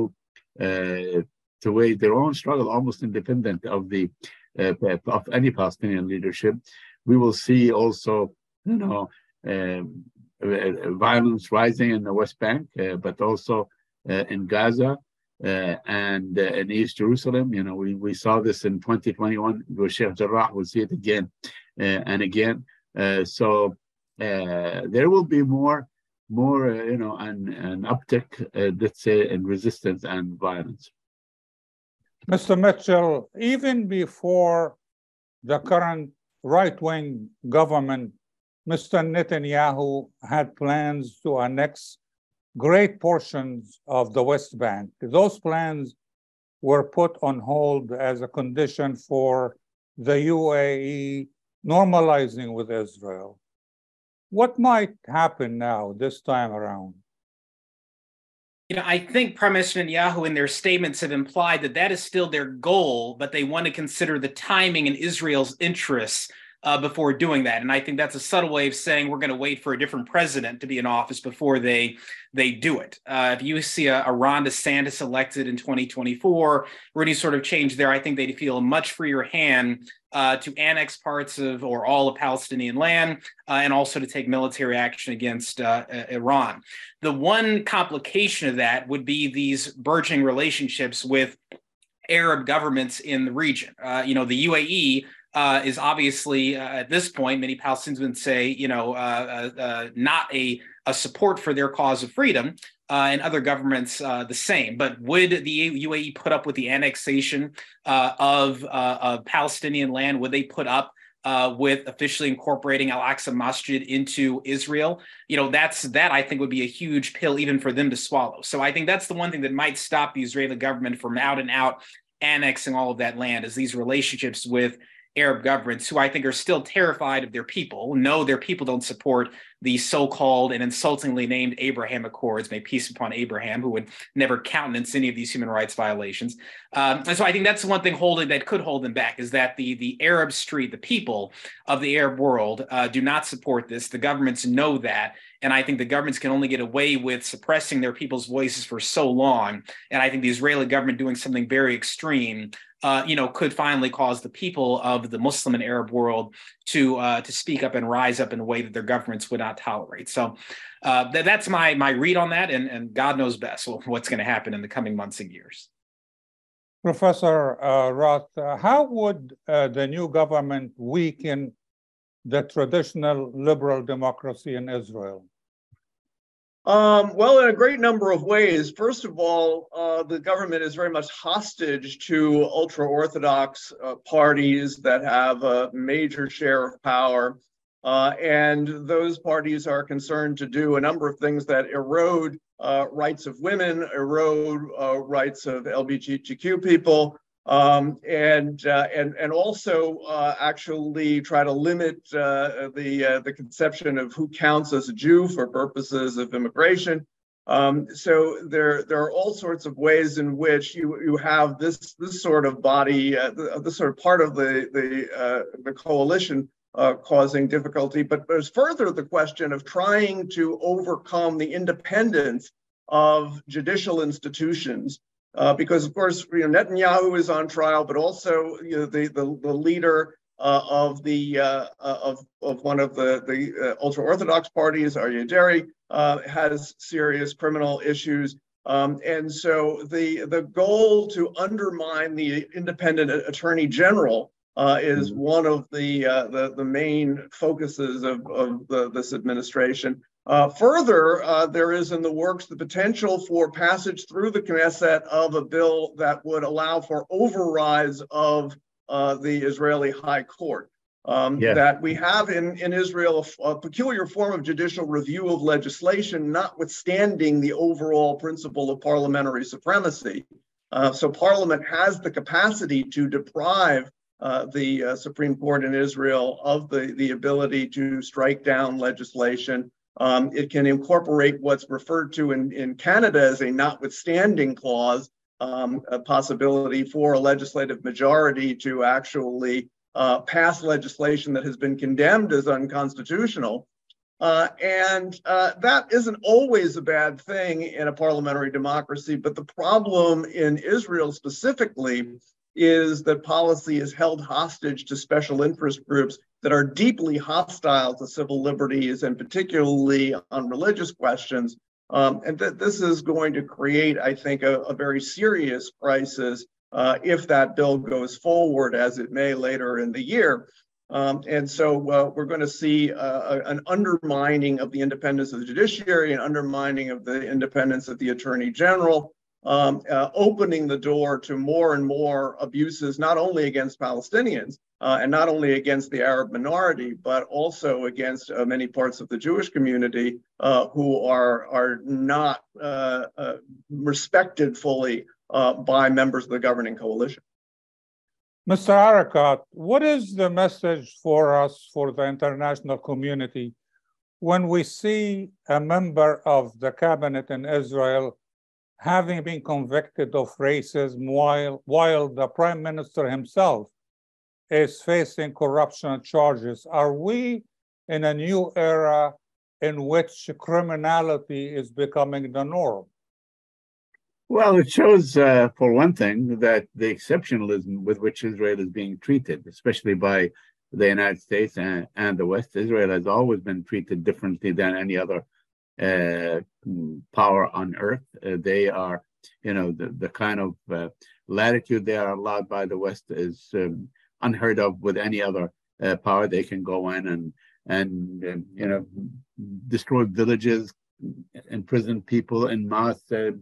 uh, to wage their own struggle, almost independent of the uh, of any Palestinian leadership. We will see also, you know, um, violence rising in the West Bank, uh, but also uh, in Gaza uh, and uh, in East Jerusalem. You know, we, we saw this in twenty twenty-one with Sheikh Jarrah. We'll see it again uh, and again. Uh, so uh, there will be more, more uh, you know, an, an uptick, uh, let's say, in resistance and violence. Mister Mitchell, even before the current right-wing government, Mister Netanyahu had plans to annex great portions of the West Bank. Those plans were put on hold as a condition for the U A E normalizing with Israel. What might happen now this time around? You know, I think Prime Minister Netanyahu in their statements have implied that that is still their goal, but they want to consider the timing and Israel's interests uh, before doing that. And I think that's a subtle way of saying we're going to wait for a different president to be in office before they they do it. Uh, if you see a, a Ron DeSantis elected in twenty twenty-four or any sort of change there, I think they'd feel a much freer hand uh, to annex parts of or all of Palestinian land uh, and also to take military action against uh, Iran. The one complication of that would be these burgeoning relationships with Arab governments in the region. Uh, you know, the U A E uh, is obviously, uh, at this point, many Palestinians would say, you know, uh, uh, uh, not a, a support for their cause of freedom, uh, and other governments uh, the same. But would the U A E put up with the annexation uh, of, uh, of Palestinian land? Would they put up Uh, with officially incorporating Al-Aqsa Masjid into Israel? You know, that's that I think would be a huge pill even for them to swallow. So I think that's the one thing that might stop the Israeli government from out and out annexing all of that land, is these relationships with Arab governments who I think are still terrified of their people, know their people don't support the so-called and insultingly named Abraham Accords, may peace upon Abraham, who would never countenance any of these human rights violations. Um, and so I think that's the one thing holding that could hold them back, is that the, the Arab street, the people of the Arab world uh, do not support this. The governments know that. And I think the governments can only get away with suppressing their people's voices for so long. And I think the Israeli government doing something very extreme Uh, you know, could finally cause the people of the Muslim and Arab world to uh, to speak up and rise up in a way that their governments would not tolerate. So uh, th- that's my my read on that, and, and God knows best what's going to happen in the coming months and years. Professor uh, Roth, uh, how would uh, the new government weaken the traditional liberal democracy in Israel? Um, well, in a great number of ways. First of all, uh, the government is very much hostage to ultra-Orthodox uh, parties that have a major share of power. Uh, and those parties are concerned to do a number of things that erode uh, rights of women, erode uh, rights of L G B T Q people, um, and, uh, and, and also uh, actually try to limit uh, the, uh, the conception of who counts as a Jew for purposes of immigration. Um, so there, there are all sorts of ways in which you, you have this, this sort of body, uh, this sort of part of the, the, uh, the coalition uh, causing difficulty. But there's further the question of trying to overcome the independence of judicial institutions. Uh, because, of course, you know, Netanyahu is on trial, but also you know, the, the, the leader uh, of the uh, of, of one of the, the uh, ultra-Orthodox parties, Aryeh Deri, uh, has serious criminal issues. Um, and so the, the goal to undermine the independent attorney general uh, is mm-hmm. one of the, uh, the, the main focuses of, of the, this administration. Uh, further, uh, there is in the works the potential for passage through the Knesset of a bill that would allow for overrides of uh, the Israeli High Court. Um, yeah. That we have in, in Israel a, a peculiar form of judicial review of legislation, notwithstanding the overall principle of parliamentary supremacy. Uh, so Parliament has the capacity to deprive uh, the uh, Supreme Court in Israel of the, the ability to strike down legislation. Um, it can incorporate what's referred to in, in Canada as a notwithstanding clause, um, a possibility for a legislative majority to actually uh, pass legislation that has been condemned as unconstitutional. Uh, and uh, that isn't always a bad thing in a parliamentary democracy, but the problem in Israel specifically is that policy is held hostage to special interest groups that are deeply hostile to civil liberties and particularly on religious questions. Um, and that this is going to create, I think, a, a very serious crisis uh, if that bill goes forward, as it may later in the year. Um, and so uh, we're going to see uh, an undermining of the independence of the judiciary, an undermining of the independence of the attorney general, um, uh, opening the door to more and more abuses, not only against Palestinians, Uh, and not only against the Arab minority, but also against uh, many parts of the Jewish community uh, who are, are not uh, uh, respected fully uh, by members of the governing coalition. Mister Arikat, what is the message for us, for the international community, when we see a member of the cabinet in Israel having been convicted of racism while, while the prime minister himself is facing corruption charges. Are we in a new era in which criminality is becoming the norm? Well, it shows, uh, for one thing, that the exceptionalism with which Israel is being treated, especially by the United States and, and the West, Israel has always been treated differently than any other uh, power on earth. Uh, they are, you know, the, the kind of uh, latitude they are allowed by the West is um, unheard of with any other uh, power. They can go in and, and uh, you know, destroy villages, imprison people in mass, uh,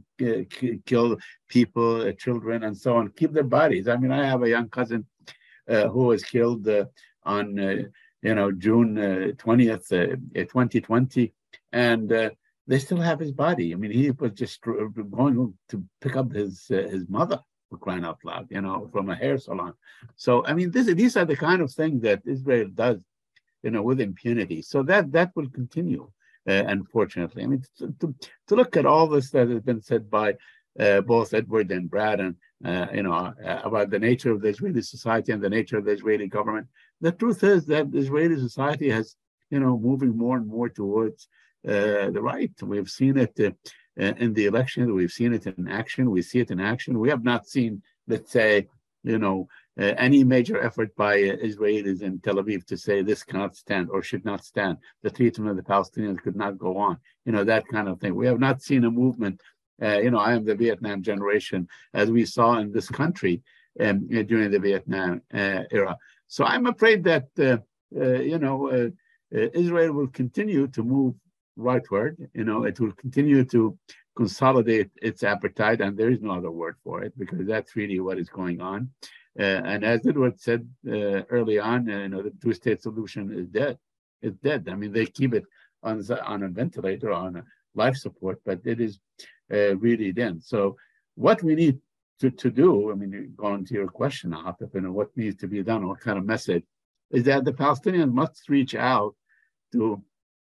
kill people, uh, children, and so on, keep their bodies. I mean, I have a young cousin uh, who was killed uh, on, uh, you know, June uh, twentieth, uh, twenty twenty, and uh, they still have his body. I mean, he was just going to pick up his uh, his mother, for crying out loud, you know, from a hair salon. So, I mean, this, these are the kind of things that Israel does, you know, with impunity. So that that will continue. Uh, unfortunately, I mean, to, to, to look at all this that has been said by uh, both Edward and Brad, and uh, you know, uh, about the nature of the Israeli society and the nature of the Israeli government, the truth is that the Israeli society has, you know, moving more and more towards uh, the right. We've seen it uh, in the election. We've seen it in action. We see it in action. We have not seen, let's say, you know, uh, any major effort by uh, Israelis in Tel Aviv to say this cannot stand or should not stand. The treatment of the Palestinians could not go on. You know, that kind of thing. We have not seen a movement. Uh, you know, I am the Vietnam generation, as we saw in this country um, during the Vietnam uh, era. So I'm afraid that, uh, uh, you know, uh, uh, Israel will continue to move rightward. You know, it will continue to consolidate its appetite, and there is no other word for it, because that's really what is going on. Uh, and as Edward said uh, early on, uh, you know, the two-state solution is dead. It's dead. I mean, they keep it on, on a ventilator, on a life support, but it is uh, really dead. So what we need to, to do, I mean, going to your question, Atif, you know, what needs to be done, what kind of message, is that the Palestinians must reach out to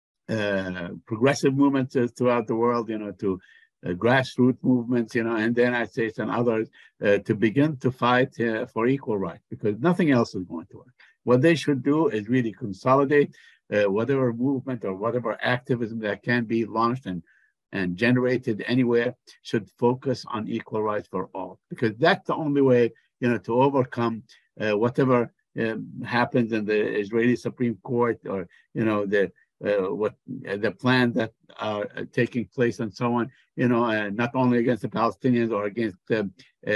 uh, progressive movements throughout the world, you know, to uh, grassroots movements, you know, and the United States and others uh, to begin to fight uh, for equal rights, because nothing else is going to work. What they should do is really consolidate uh, whatever movement or whatever activism that can be launched and, and generated anywhere should focus on equal rights for all, because that's the only way, you know, to overcome uh, whatever uh, happens in the Israeli Supreme Court, or, you know, the Uh, what uh, the plan that are uh, taking place and so on, you know, uh, not only against the Palestinians or against uh,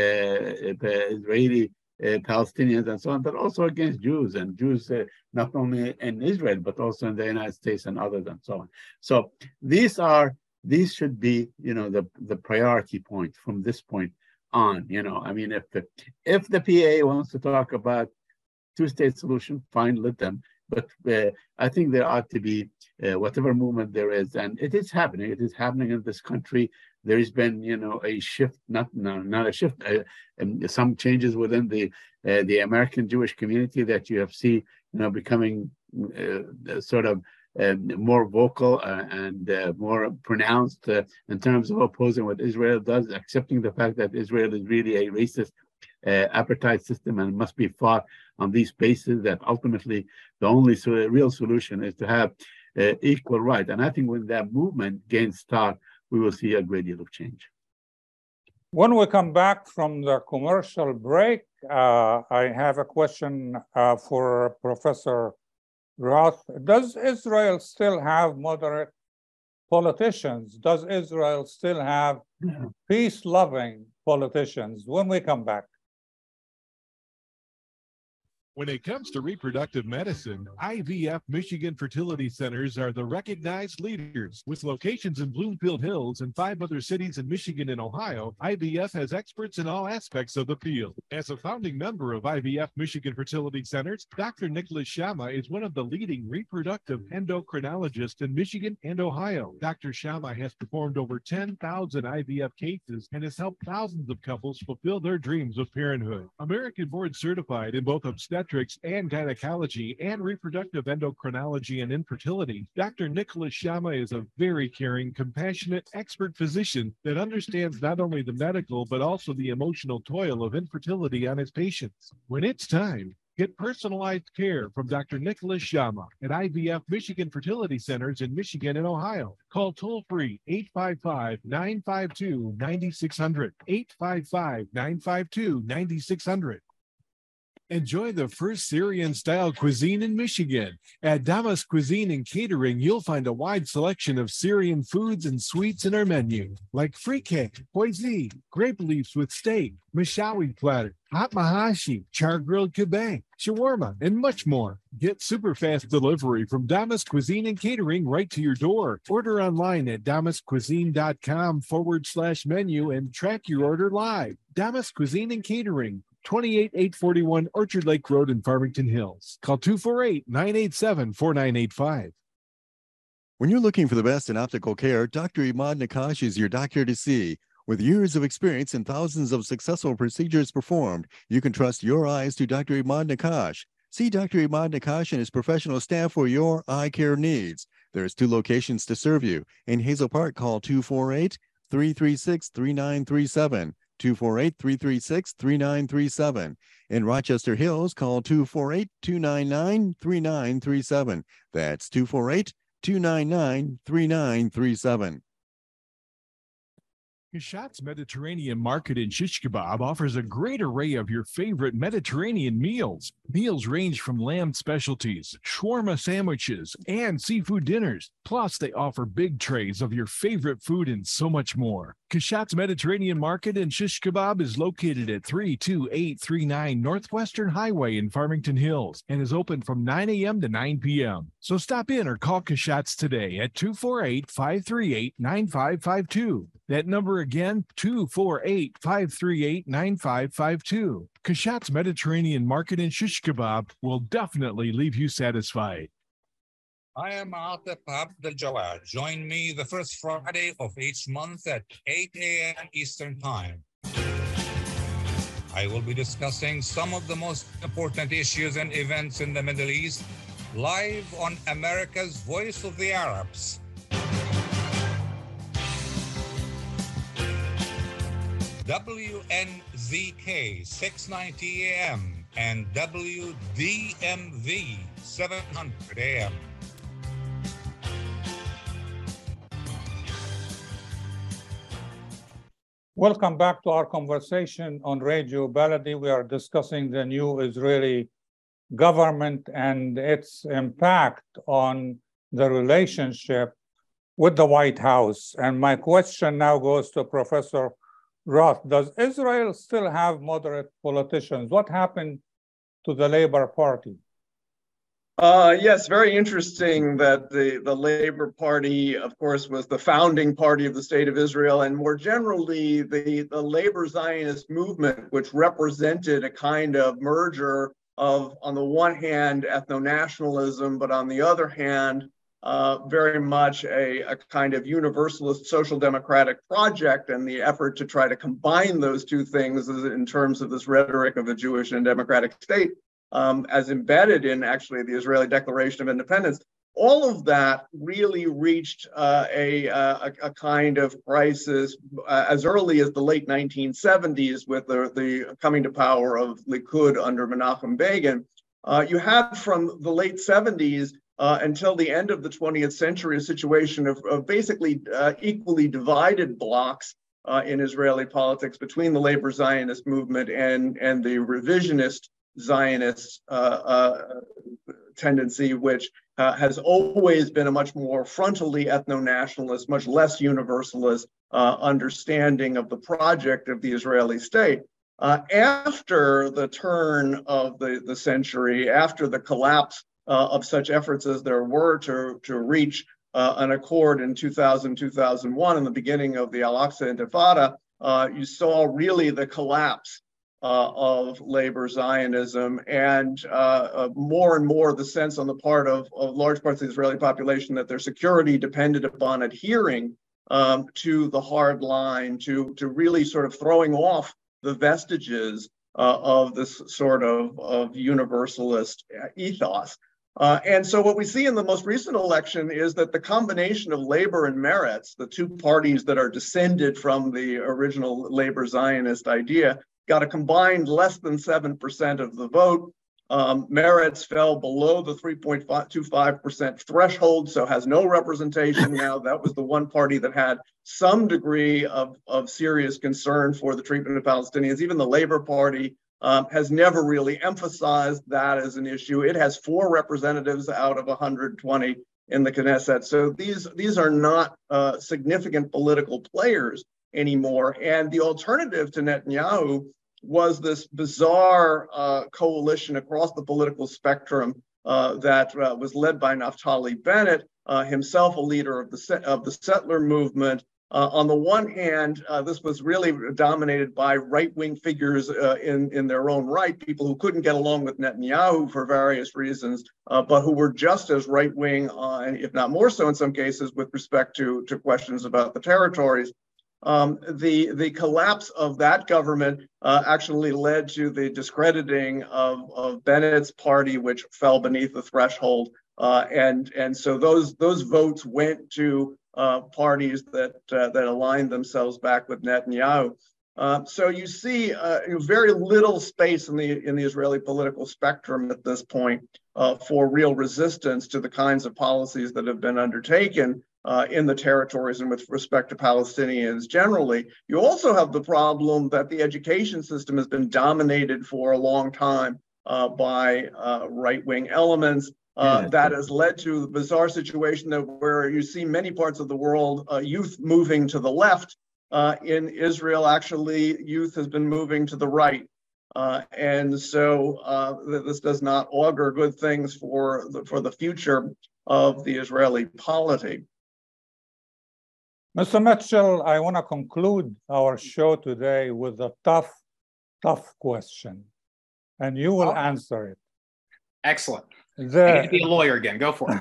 uh, Israeli uh, Palestinians and so on, but also against Jews and Jews uh, not only in Israel, but also in the United States and others and so on. So these are, these should be, you know, the, the priority point from this point on, you know. I mean, if the, if the P A wants to talk about two-state solution, fine, let them. But uh, I think there ought to be uh, whatever movement there is, and it is happening. It is happening in this country. There has been, you know, a shift, not no, not a shift, uh, um, some changes within the uh, the American Jewish community that you have seen, you know, becoming uh, sort of uh, more vocal uh, and uh, more pronounced uh, in terms of opposing what Israel does, accepting the fact that Israel is really a racist Uh, apartheid system and must be fought on these bases, that ultimately the only so, real solution is to have uh, equal right. And I think when that movement gains start, we will see a great deal of change. When we come back from the commercial break, uh, I have a question uh, for Professor Roth. Does Israel still have moderate politicians? Does Israel still have yeah. peace-loving politicians? When we come back. When it comes to reproductive medicine, I V F Michigan Fertility Centers are the recognized leaders. With locations in Bloomfield Hills and five other cities in Michigan and Ohio, I V F has experts in all aspects of the field. As a founding member of I V F Michigan Fertility Centers, Doctor Nicholas Shama is one of the leading reproductive endocrinologists in Michigan and Ohio. Doctor Shama has performed over ten thousand I V F cases and has helped thousands of couples fulfill their dreams of parenthood. American board certified in both obstetrics and gynecology and reproductive endocrinology and infertility, Doctor Nicholas Shama is a very caring, compassionate, expert physician that understands not only the medical but also the emotional toil of infertility on his patients. When it's time, Get personalized care from Doctor Nicholas Shama at I V F Michigan Fertility Centers in Michigan and Ohio. Call toll-free eight five five, nine five two, nine six zero zero, eight five five, nine five two, nine six zero zero. Enjoy the first Syrian-style cuisine in Michigan. At Damas Cuisine and Catering, you'll find a wide selection of Syrian foods and sweets in our menu, like frikeh, poisi, grape leaves with steak, mashawi platter, hot mahashi, char-grilled kebab, shawarma, and much more. Get super fast delivery from Damas Cuisine and Catering right to your door. Order online at damascuisine.com forward slash menu and track your order live. Damas Cuisine and Catering, twenty-eight eight forty-one Orchard Lake Road in Farmington Hills. Call two four eight, nine eight seven, four nine eight five. When you're looking for the best in optical care, Doctor Imad Nakash is your doctor to see. With years of experience and thousands of successful procedures performed, you can trust your eyes to Doctor Imad Nakash. See Doctor Imad Nakash and his professional staff for your eye care needs. There's two locations to serve you. In Hazel Park, call two four eight, three three six, three nine three seven. two four eight, three three six, three nine three seven. In Rochester Hills, call two four eight, two nine nine, three nine three seven. That's two four eight, two nine nine, three nine three seven. Kashat's Mediterranean Market in Shish Kebab offers a great array of your favorite Mediterranean meals. Meals range from lamb specialties, shawarma sandwiches, and seafood dinners. Plus, they offer big trays of your favorite food and so much more. Kashat's Mediterranean Market in Shish Kebab is located at three two eight three nine Northwestern Highway in Farmington Hills and is open from nine a.m. to nine p.m. So stop in or call Kashat's today at two four eight, five three eight, nine five five two. That number again, two four eight, five three eight, nine five five two. Kashat's Mediterranean Market in Shish Kebab will definitely leave you satisfied. I am Atif Abdel Jawad. Join me the first Friday of each month at eight a.m. Eastern Time. I will be discussing some of the most important issues and events in the Middle East live on America's Voice of the Arabs. W N Z K six ninety A M and W D M V seven hundred A M. Welcome back to our conversation on Radio Baladi. We are discussing the new Israeli government and its impact on the relationship with the White House. And my question now goes to Professor Roth. Does Israel still have moderate politicians? What happened to the Labor Party? Uh, yes, very interesting that the, the Labor Party, of course, was the founding party of the State of Israel, and more generally, the, the labor Zionist movement, which represented a kind of merger of, on the one hand, ethno-nationalism, but on the other hand, uh, very much a, a kind of universalist social democratic project, and the effort to try to combine those two things in terms of this rhetoric of a Jewish and democratic state. Um, as embedded in actually the Israeli Declaration of Independence, all of that really reached uh, a, a, a kind of crisis uh, as early as the late nineteen seventies with the, the coming to power of Likud under Menachem Begin. Uh, you had from the late seventies uh, until the end of the twentieth century a situation of, of basically uh, equally divided blocks uh, in Israeli politics between the labor Zionist movement and, and the revisionist Zionist uh, uh, tendency, which uh, has always been a much more frontally ethno-nationalist, much less universalist uh, understanding of the project of the Israeli state. Uh, after the turn of the, the century, after the collapse uh, of such efforts as there were to, to reach uh, an accord in two thousand, two thousand one, and the beginning of the Al-Aqsa Intifada, uh, you saw really the collapse Uh, of labor Zionism, and uh, uh, more and more the sense on the part of, of large parts of the Israeli population that their security depended upon adhering um, to the hard line, to, to really sort of throwing off the vestiges uh, of this sort of, of universalist ethos. Uh, and so what we see in the most recent election is that the combination of labor and Meretz, the two parties that are descended from the original labor Zionist idea, got a combined less than seven percent of the vote. Um, Meretz fell below the three point two five percent threshold, so has no representation now. That was the one party that had some degree of, of serious concern for the treatment of Palestinians. Even the Labor Party um, has never really emphasized that as an issue. It has four representatives out of one hundred twenty in the Knesset. So these, these are not uh, significant political players anymore. And the alternative to Netanyahu was this bizarre uh, coalition across the political spectrum uh, that uh, was led by Naftali Bennett, uh, himself a leader of the of the settler movement. Uh, on the one hand, uh, this was really dominated by right-wing figures uh, in, in their own right, people who couldn't get along with Netanyahu for various reasons, uh, but who were just as right-wing, uh, if not more so in some cases, with respect to, to questions about the territories. Um, the, the collapse of that government uh, actually led to the discrediting of, of Bennett's party, which fell beneath the threshold. Uh, and, and so those, those votes went to uh, parties that, uh, that aligned themselves back with Netanyahu. Uh, so you see uh, very little space in the, in the Israeli political spectrum at this point uh, for real resistance to the kinds of policies that have been undertaken Uh, in the territories and with respect to Palestinians generally. You also have the problem that the education system has been dominated for a long time uh, by uh, right-wing elements. Uh, yeah. That has led to the bizarre situation that where you see many parts of the world, uh, youth moving to the left. Uh, in Israel, actually, youth has been moving to the right. Uh, and so uh, this does not augur good things for the, for the future of the Israeli polity. Mister Mitchell, I want to conclude our show today with a tough, tough question, and you will oh. answer it. Excellent. The, I get to be a lawyer again. Go for it.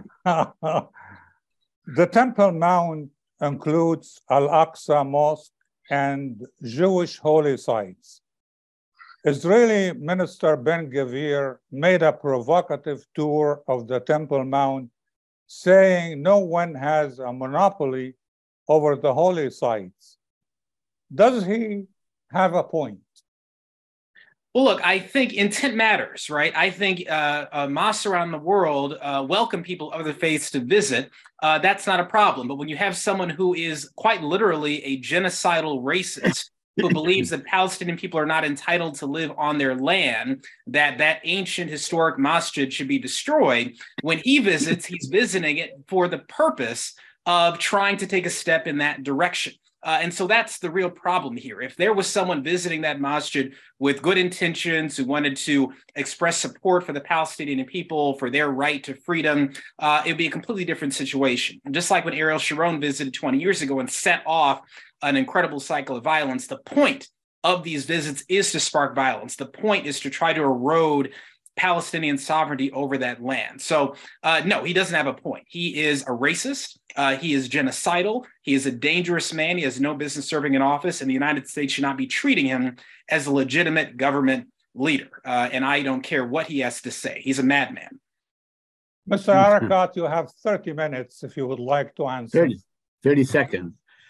The Temple Mount includes Al-Aqsa Mosque and Jewish holy sites. Israeli Minister Ben-Gvir made a provocative tour of the Temple Mount, saying no one has a monopoly over the holy sites. Does he have a point? Well, look, I think intent matters, right? I think uh, uh, mosques around the world uh, welcome people of other faiths to visit. Uh, that's not a problem. But when you have someone who is quite literally a genocidal racist who believes that Palestinian people are not entitled to live on their land, that that ancient historic masjid should be destroyed, when he visits, he's visiting it for the purpose of trying to take a step in that direction. Uh, and so that's the real problem here. If there was someone visiting that masjid with good intentions, who wanted to express support for the Palestinian people, for their right to freedom, uh, it would be a completely different situation. And just like when Ariel Sharon visited twenty years ago and set off an incredible cycle of violence, the point of these visits is to spark violence. The point is to try to erode Palestinian sovereignty over that land. So uh, no, he doesn't have a point. He is a racist. Uh, he is genocidal. He is a dangerous man. He has no business serving in office, and the United States should not be treating him as a legitimate government leader. Uh, and I don't care what he has to say. He's a madman. Mister Arikat, you have thirty minutes if you would like to answer. thirty, thirty seconds.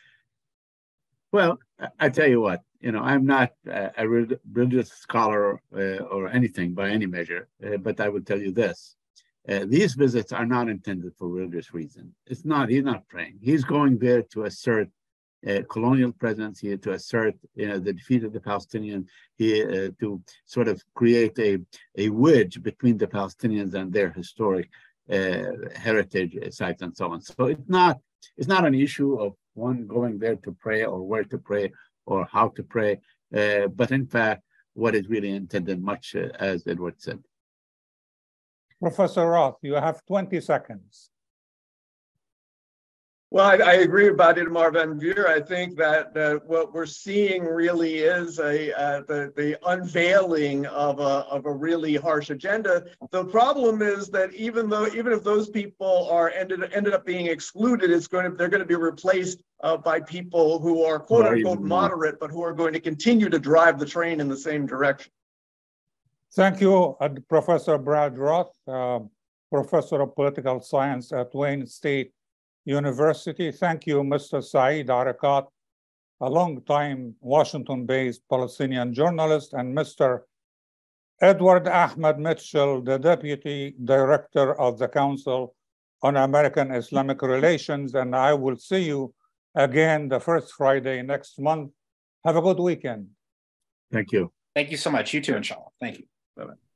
Well, I tell you what, you know, I'm not a religious scholar uh, or anything by any measure, uh, but I would tell you this. Uh, these visits are not intended for religious reasons. It's not, he's not praying. He's going there to assert uh, colonial presence here, to assert you know, the defeat of the Palestinians, here, uh, to sort of create a, a wedge between the Palestinians and their historic uh, heritage sites and so on. So it's not, it's not an issue of one going there to pray or where to pray or how to pray, uh, but in fact, what is really intended, much uh, as Edward said. Professor Roth, you have twenty seconds. Well, I, I agree about Itamar Ben-Gvir. I think that uh, what we're seeing really is a uh, the, the unveiling of a, of a really harsh agenda. The problem is that even though even if those people are ended ended up being excluded, it's going to they're going to be replaced uh, by people who are quote unquote moderate, but who are going to continue to drive the train in the same direction. Thank you, uh, Professor Brad Roth, uh, Professor of Political Science at Wayne State University. Thank you, Mister Saeed Arikat, a long-time Washington-based Palestinian journalist, and Mister Edward Ahmed Mitchell, the Deputy Director of the Council on American Islamic Relations, and I will see you again the first Friday next month. Have a good weekend. Thank you. Thank you so much. You too, inshallah. Thank you. Bye-bye.